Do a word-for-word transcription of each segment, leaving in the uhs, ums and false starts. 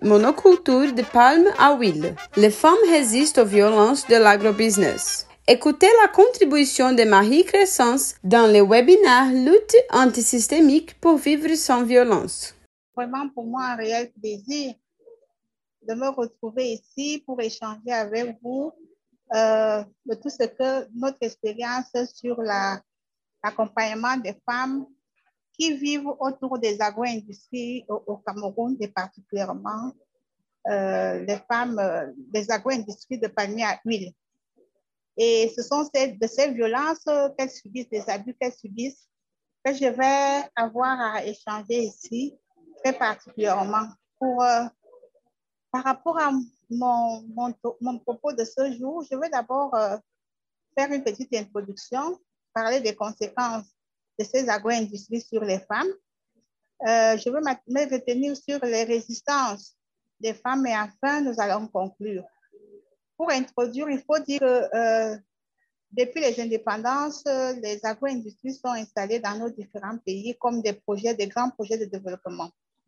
Monoculture de palme à huile. Les femmes résistent aux violences de l'agrobusiness. Écoutez la contribution de Marie Crescence dans le webinaire Lutte antisystémique pour vivre sans violence. Vraiment pour moi un réel plaisir de me retrouver ici pour échanger avec vous euh, de tout ce que notre expérience sur l'accompagnement la, des femmes qui vivent autour des agro-industries au, au Cameroun, et particulièrement euh, les femmes euh, des agro-industries de palmier à huile. Et ce sont ces, de ces violences qu'elles subissent, des abus qu'elles subissent, que je vais avoir à échanger ici, très particulièrement. Pour, euh, par rapport à mon, mon, mon propos de ce jour, je vais d'abord euh, faire une petite introduction, parler des conséquences de ces agro-industries sur les femmes. Euh, je vais me retenir sur les résistances des femmes et enfin, nous allons conclure. Pour introduire, il faut dire que euh, depuis les indépendances, les agro-industries sont installées dans nos différents pays comme des projets, des grands projets de développement.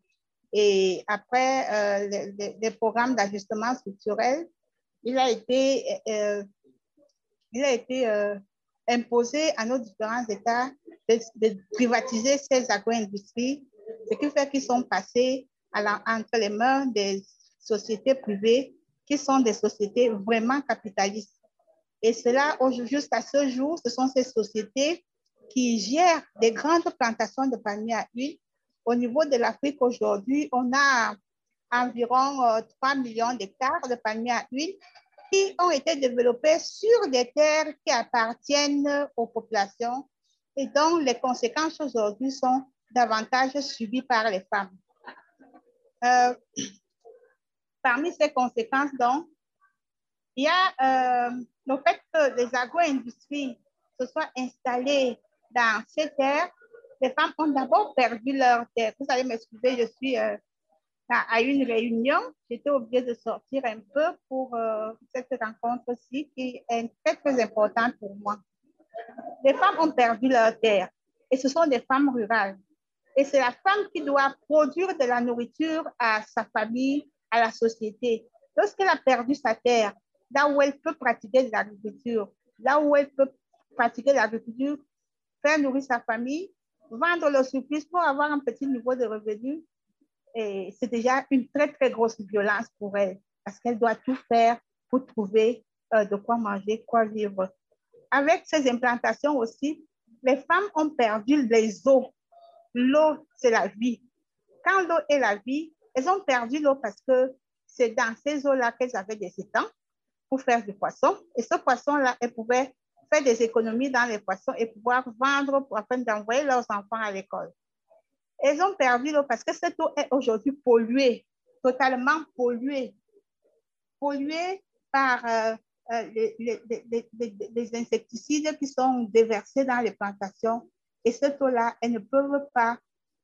Et après euh, les, les, les programmes d'ajustement structurel, il a été, euh, il a été euh, imposé à nos différents États de, de privatiser ces agro-industries, ce qui fait qu'ils sont passés à la, entre les mains des sociétés privées qui sont des sociétés vraiment capitalistes. Et cela, jusqu'à ce jour, ce sont ces sociétés qui gèrent des grandes plantations de palmiers à huile. Au niveau de l'Afrique aujourd'hui, on a environ euh, trois millions d'hectares de palmiers à huile qui ont été développés sur des terres qui appartiennent aux populations et dont les conséquences aujourd'hui sont davantage subies par les femmes. Euh, parmi ces conséquences, donc, il y a euh, le fait que les agro-industries se soient installées dans ces terres. Les femmes ont d'abord perdu leurs terres. Vous allez m'excuser, je suis euh, à une réunion. J'étais obligée de sortir un peu pour euh, cette rencontre-ci qui est très, très importante pour moi. Les femmes ont perdu leurs terres et ce sont des femmes rurales. Et c'est la femme qui doit produire de la nourriture à sa famille, à la société. Lorsqu'elle a perdu sa terre, là où elle peut pratiquer de l'agriculture, là où elle peut pratiquer l'agriculture, faire nourrir sa famille, vendre le surplus pour avoir un petit niveau de revenu, c'est déjà une très, très grosse violence pour elle parce qu'elle doit tout faire pour trouver euh, de quoi manger, quoi vivre. Avec ces implantations aussi, les femmes ont perdu les eaux. L'eau, c'est la vie. Quand l'eau est la vie, elles ont perdu l'eau parce que c'est dans ces eaux-là qu'elles avaient des étangs pour faire du poisson. Et ce poisson-là, elles pouvaient faire des économies dans les poissons et pouvoir vendre pour, afin d'envoyer leurs enfants à l'école. Elles ont perdu l'eau parce que cette eau est aujourd'hui polluée, totalement polluée. Polluée par euh, les, les, les, les, les insecticides qui sont déversés dans les plantations. Et cette eau-là, elles ne peuvent pas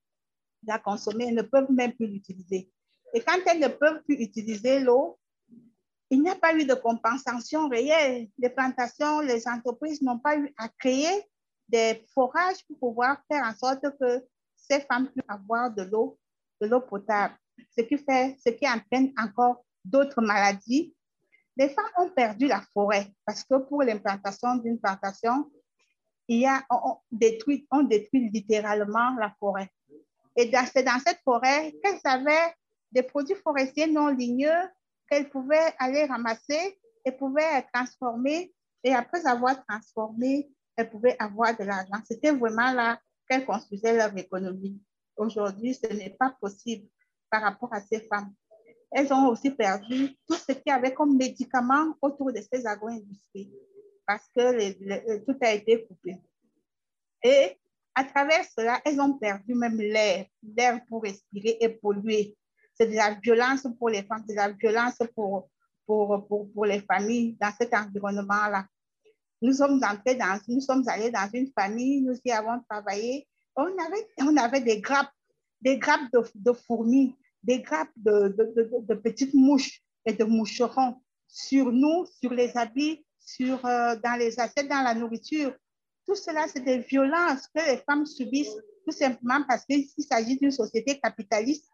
la consommer, elles ne peuvent même plus l'utiliser. Et quand elles ne peuvent plus utiliser l'eau, il n'y a pas eu de compensation réelle. Les plantations, les entreprises n'ont pas eu à créer des forages pour pouvoir faire en sorte que ces femmes puissent avoir de l'eau, de l'eau potable, ce qui fait, ce qui entraîne encore d'autres maladies. Les femmes ont perdu la forêt parce que pour l'implantation d'une plantation, il y a, on, détruit, on détruit littéralement la forêt. Et c'est dans cette forêt qu'elles avaient des produits forestiers non ligneux qu'elles pouvaient aller ramasser et pouvaient transformer. Et après avoir transformé, elles pouvaient avoir de l'argent. C'était vraiment là qu'elles construisaient leur économie. Aujourd'hui, ce n'est pas possible par rapport à ces femmes. Elles ont aussi perdu tout ce qu'il y avait comme médicaments autour de ces agro-industries parce que les, les, tout a été coupé. Et à travers cela, elles ont perdu même l'air, l'air pour respirer et polluer. C'est de la violence pour les femmes, c'est de la violence pour, pour, pour, pour les familles dans cet environnement-là. Nous sommes entrés dans, nous sommes allés dans une famille, nous y avons travaillé. On avait, on avait des grappes, des grappes de, de fourmis, des grappes de, de, de, de petites mouches et de moucherons sur nous, sur les habits, sur, euh, dans les assiettes, dans la nourriture. Tout cela, c'est des violences que les femmes subissent tout simplement parce qu'il s'agit d'une société capitaliste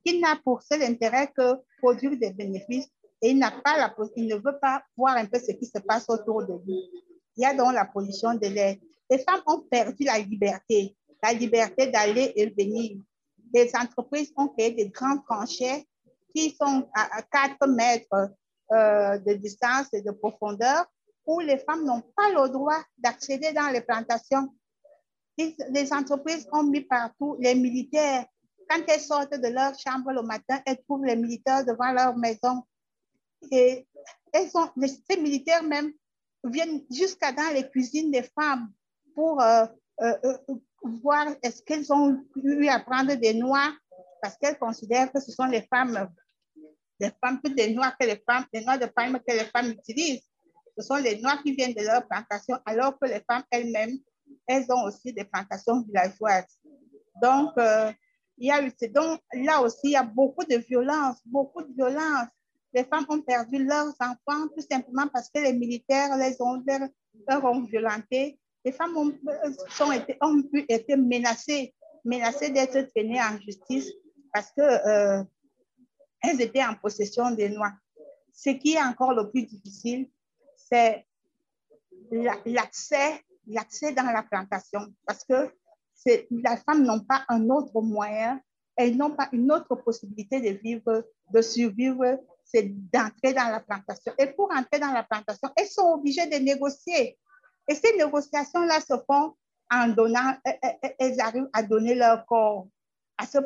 qui n'a pour seul intérêt que produire des bénéfices et il n'a pas la, il ne veut pas voir un peu ce qui se passe autour de lui. Il y a donc la pollution de l'air. Les femmes ont perdu la liberté, la liberté d'aller et venir. Les entreprises ont créé des grandes tranchées qui sont à quatre mètres euh, de distance et de profondeur où les femmes n'ont pas le droit d'accéder dans les plantations. Les entreprises ont mis partout les militaires. Quand elles sortent de leur chambre le matin, elles trouvent les militaires devant leur maison. Et elles ont, ces militaires même viennent jusqu'à dans les cuisines des femmes pour euh, euh, euh, voir est-ce qu'elles ont eu à prendre des noix parce qu'elles considèrent que ce sont les femmes, les femmes plus des noix que les femmes, les noix de palme que les femmes utilisent. Ce sont les noix qui viennent de leur plantation, alors que les femmes elles-mêmes, elles ont aussi des plantations villageoises. Donc, euh, il y a eu, donc là aussi, il y a beaucoup de violence, beaucoup de violence. Les femmes ont perdu leurs enfants tout simplement parce que les militaires les ont, leur ont violentés. Les femmes ont, sont été, ont été menacées, menacées d'être traînées en justice parce qu'elles euh, étaient en possession des noix. Ce qui est encore le plus difficile, c'est l'accès, l'accès dans la plantation parce que les femmes n'ont pas un autre moyen, elles n'ont pas une autre possibilité de vivre, de survivre, c'est d'entrer dans la plantation. Et pour entrer dans la plantation, elles sont obligées de négocier. Et ces négociations-là se font en donnant, elles arrivent à donner leur corps à ce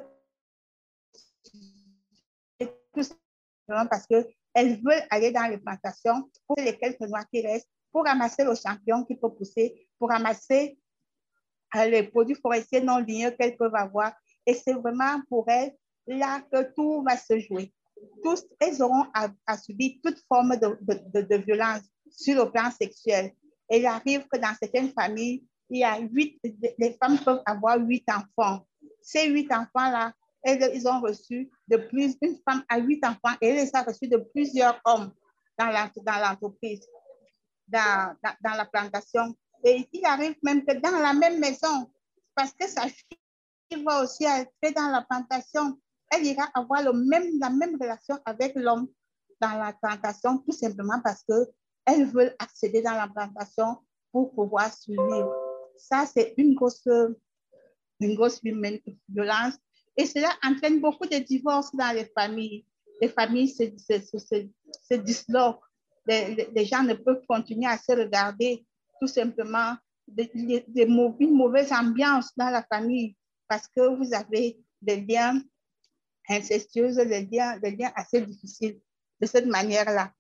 parce qu'elles veulent aller dans les plantations pour les quelques noix qui restent, pour ramasser le champignon qui peut pousser, pour ramasser les produits forestiers non ligneux qu'elles peuvent avoir. Et c'est vraiment pour elles là que tout va se jouer. Tous, elles auront à, à subir toute forme de, de, de, de violence sur le plan sexuel. Et il arrive que dans certaines familles, il y a huit, les femmes peuvent avoir huit enfants. Ces huit enfants-là, elles, ils ont reçu de plus, une femme a huit enfants et elle les a reçus de plusieurs hommes dans l'entreprise, dans, dans, dans la plantation. Et il arrive même que dans la même maison, parce que sa fille va aussi entrer dans la plantation, elle ira avoir le même, la même relation avec l'homme dans la plantation, tout simplement parce qu'elles veulent accéder dans la plantation pour pouvoir survivre. Ça, c'est une grosse, une grosse violence. Et cela entraîne beaucoup de divorces dans les familles. Les familles se, se, se, se, se disloquent. Les, les gens ne peuvent continuer à se regarder tout simplement de, de, de, une mauvaise ambiance dans la famille parce que vous avez des liens incestueux, des liens, des liens assez difficiles de cette manière-là.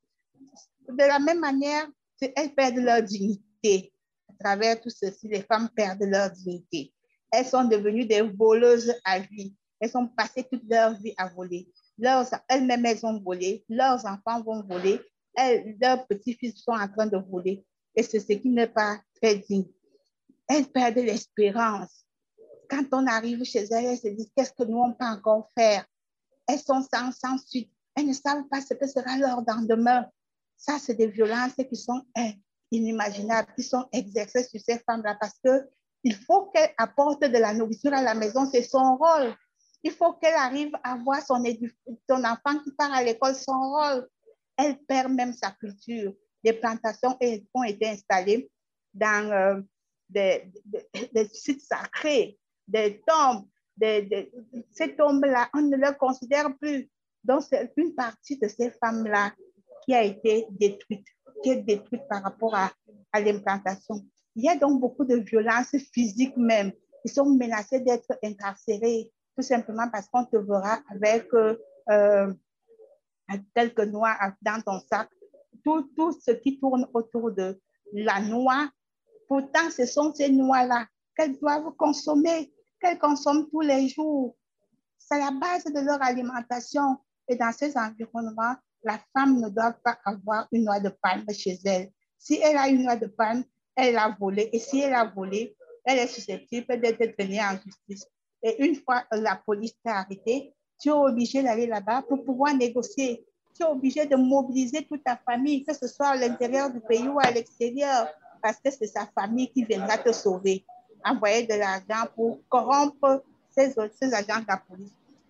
De la même manière, elles perdent leur dignité. À travers tout ceci, les femmes perdent leur dignité. Elles sont devenues des voleuses à vie. Elles ont passé toute leur vie à voler. Elles-mêmes, elles ont volé. Leurs enfants vont voler. Elles, leurs petits-fils sont en train de voler. Et c'est ce qui n'est pas très digne. Elles perdent l'espérance. Quand on arrive chez elles, elles se disent qu'est-ce que nous on peut encore faire. Elles sont sans, sans suite. Elles ne savent pas ce que sera leur lendemain. Ça, c'est des violences qui sont hein, inimaginables, qui sont exercées sur ces femmes-là parce qu'il faut qu'elles apportent de la nourriture à la maison, c'est son rôle. Il faut qu'elle arrive à voir son, son enfant qui part à l'école, son rôle. Elle perd même sa culture. Des plantations ont été installées dans euh, des, des, des sites sacrés, des tombes. Des, des, ces tombes-là, on ne les considère plus. Donc, c'est une partie de ces femmes-là qui a été détruite, qui est détruite par rapport à, à l'implantation. Il y a donc beaucoup de violences physiques même. Ils sont menacés d'être incarcérés, tout simplement parce qu'on te verra avec euh, quelques noix dans ton sac. Tout, tout ce qui tourne autour de la noix, pourtant, ce sont ces noix-là qu'elles doivent consommer, qu'elles consomment tous les jours. C'est la base de leur alimentation. Et dans ces environnements, la femme ne doit pas avoir une noix de palme chez elle. Si elle a une noix de palme, elle a volé. Et si elle a volé, elle est susceptible d'être traînée en justice. Et une fois la police t'a arrêté, tu es obligé d'aller là-bas pour pouvoir négocier. Tu es obligé de mobiliser toute ta famille, que ce soit à l'intérieur du pays ou à l'extérieur, parce que c'est sa famille qui viendra te sauver. Envoyer de l'argent pour corrompre ces, ces agents de la police.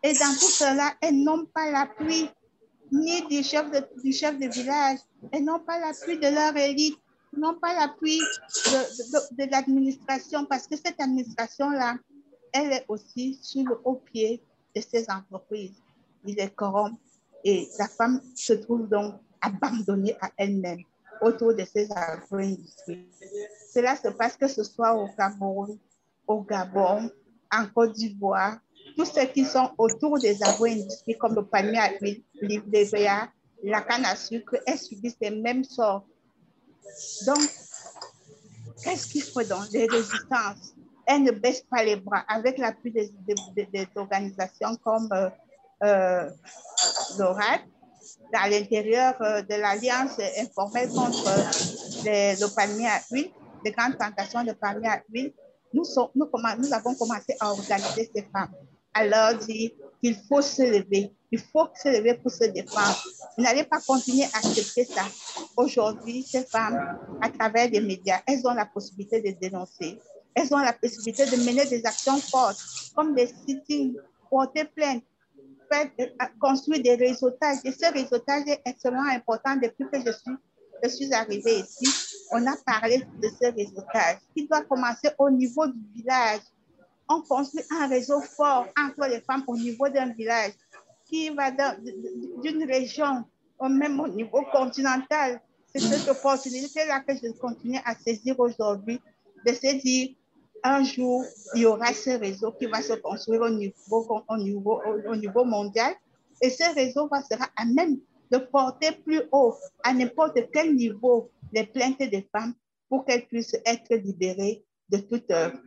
Et dans tout cela, elles n'ont pas l'appui ni du chef de, du chef de village, elles n'ont pas l'appui de leur élite, n'ont pas l'appui de, de, de l'administration, parce que cette administration-là, elle est aussi sur le haut pied de ces entreprises. Il les corrompt et la femme se trouve donc abandonnée à elle-même autour de ces agro-industries. Cela se passe que ce soit au Cameroun, au Gabon, en Côte d'Ivoire, tous ceux qui sont autour des agro-industries comme le palmier à huile, l'I V A, la canne à sucre, elles subissent les mêmes sorts. Donc, qu'est-ce qu'il faut donc? Des résistances. Elles ne baissent pas les bras avec l'appui des, des, des, organisations comme euh, euh, l'ORAD, à l'intérieur euh, de l'Alliance informelle contre les, le palmier à huile, les grandes plantations de palmier à huile. Nous, sont, nous, nous avons commencé à organiser ces femmes, à leur dire qu'il faut se lever, il faut se lever pour se défendre. Vous n'allez pas continuer à accepter ça. Aujourd'hui, ces femmes, à travers les médias, elles ont la possibilité de dénoncer. Elles ont la possibilité de mener des actions fortes, comme des sit-ins, porter plainte, faire, construire des réseautages. Et ce réseautage est extrêmement important depuis que je suis, je suis arrivée ici. On a parlé de ce réseautage qui doit commencer au niveau du village. On construit un réseau fort entre les femmes au niveau d'un village qui va d'une région ou même au niveau continental. C'est cette opportunité-là que je continue à saisir aujourd'hui, de se dire un jour, il y aura ce réseau qui va se construire au niveau, au niveau, au niveau mondial et ce réseau va, sera à même de porter plus haut, à n'importe quel niveau, les plaintes des femmes pour qu'elles puissent être libérées de, toute,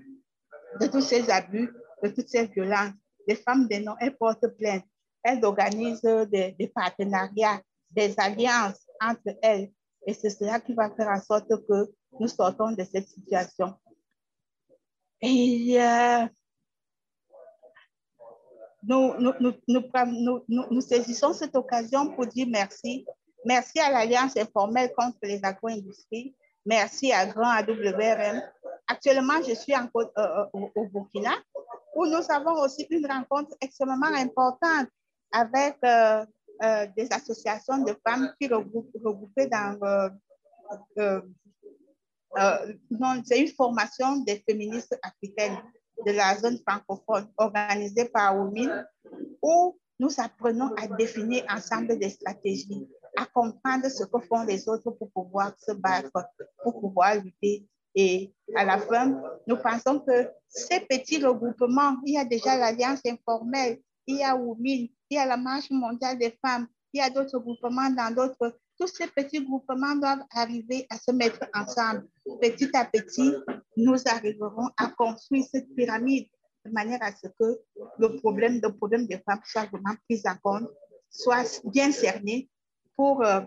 de tous ces abus, de toutes ces violences. Les femmes des noms, elles portent plainte. Elles organisent des, des partenariats, des alliances entre elles. Et c'est cela qui va faire en sorte que nous sortons de cette situation. Et euh, nous, nous, nous, nous, nous, nous saisissons cette occasion pour dire merci. Merci à l'Alliance informelle contre les agro-industries. Merci à Grand A W R M. Actuellement, je suis en, euh, au, au Burkina, où nous avons aussi une rencontre extrêmement importante avec euh, euh, des associations de femmes qui regroupent, regroupées dans... Euh, euh, euh, c'est une formation des féministes africaines de la zone francophone organisée par O M I N, où nous apprenons à définir ensemble des stratégies, à comprendre ce que font les autres pour pouvoir se battre, pour pouvoir lutter. Et à la fin, nous pensons que ces petits regroupements, il y a déjà l'Alliance informelle, il y a O M I N, il y a la Marche mondiale des femmes, il y a d'autres groupements dans d'autres. Tous ces petits groupements doivent arriver à se mettre ensemble. Petit à petit, nous arriverons à construire cette pyramide de manière à ce que le problème, le problème des femmes soit vraiment pris en compte, soit bien cerné pour euh,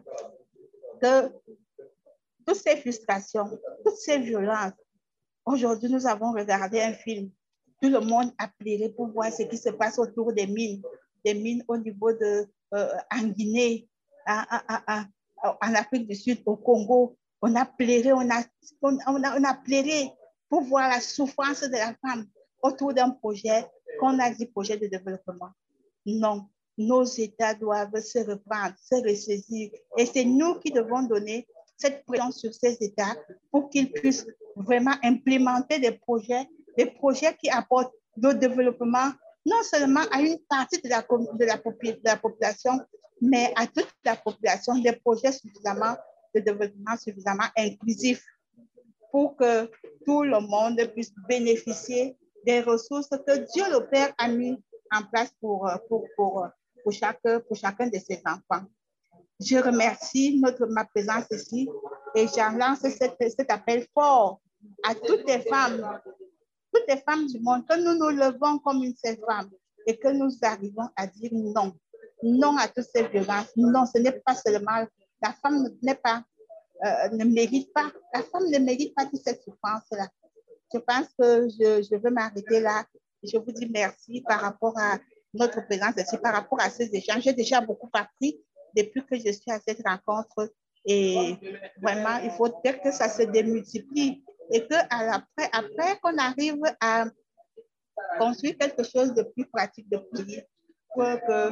que toutes ces frustrations, toutes ces violences. Aujourd'hui, nous avons regardé un film. Tout le monde a pleuré pour voir ce qui se passe autour des mines, des mines au niveau de euh, en Guinée, à, à, à, en Afrique du Sud, au Congo. On a pleuré, on a, on, a, on a pleuré pour voir la souffrance de la femme autour d'un projet qu'on a dit projet de développement. Non, nos États doivent se reprendre, se ressaisir. Et c'est nous qui devons donner cette pression sur ces États pour qu'ils puissent vraiment implémenter des projets, des projets qui apportent le développement, non seulement à une partie de la, de la, de la population, mais à toute la population, des projets suffisamment de développement suffisamment inclusifs pour que tout le monde puisse bénéficier des ressources que Dieu le Père a mis en place pour, pour, pour, pour, chaque, pour chacun de ses enfants. Je remercie notre, ma présence ici et j'en lance cet, cet appel fort à toutes les femmes, toutes les femmes du monde, que nous nous levons comme une seule femme et que nous arrivons à dire non. Non à toutes ces violences. Non, ce n'est pas seulement, la femme n'est pas, euh, ne mérite pas, la femme ne mérite pas toute cette souffrance-là. Je pense que je, je veux m'arrêter là. Je vous dis merci par rapport à notre présence ici, par rapport à ces échanges. J'ai déjà beaucoup appris depuis que je suis à cette rencontre et vraiment, il faut dire que ça se démultiplie et qu'après, après qu'on arrive à construire quelque chose de plus pratique, de plus, que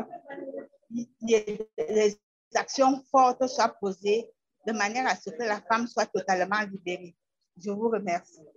les actions fortes soient posées de manière à ce que la femme soit totalement libérée. Je vous remercie.